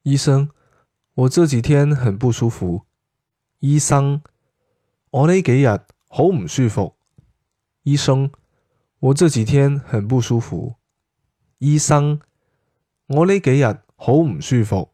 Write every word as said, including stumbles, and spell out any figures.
醫生，我這幾天很不舒服。醫生，我呢幾日好唔舒服。醫生，我這幾天很不舒服。醫生，我呢幾日好唔舒服。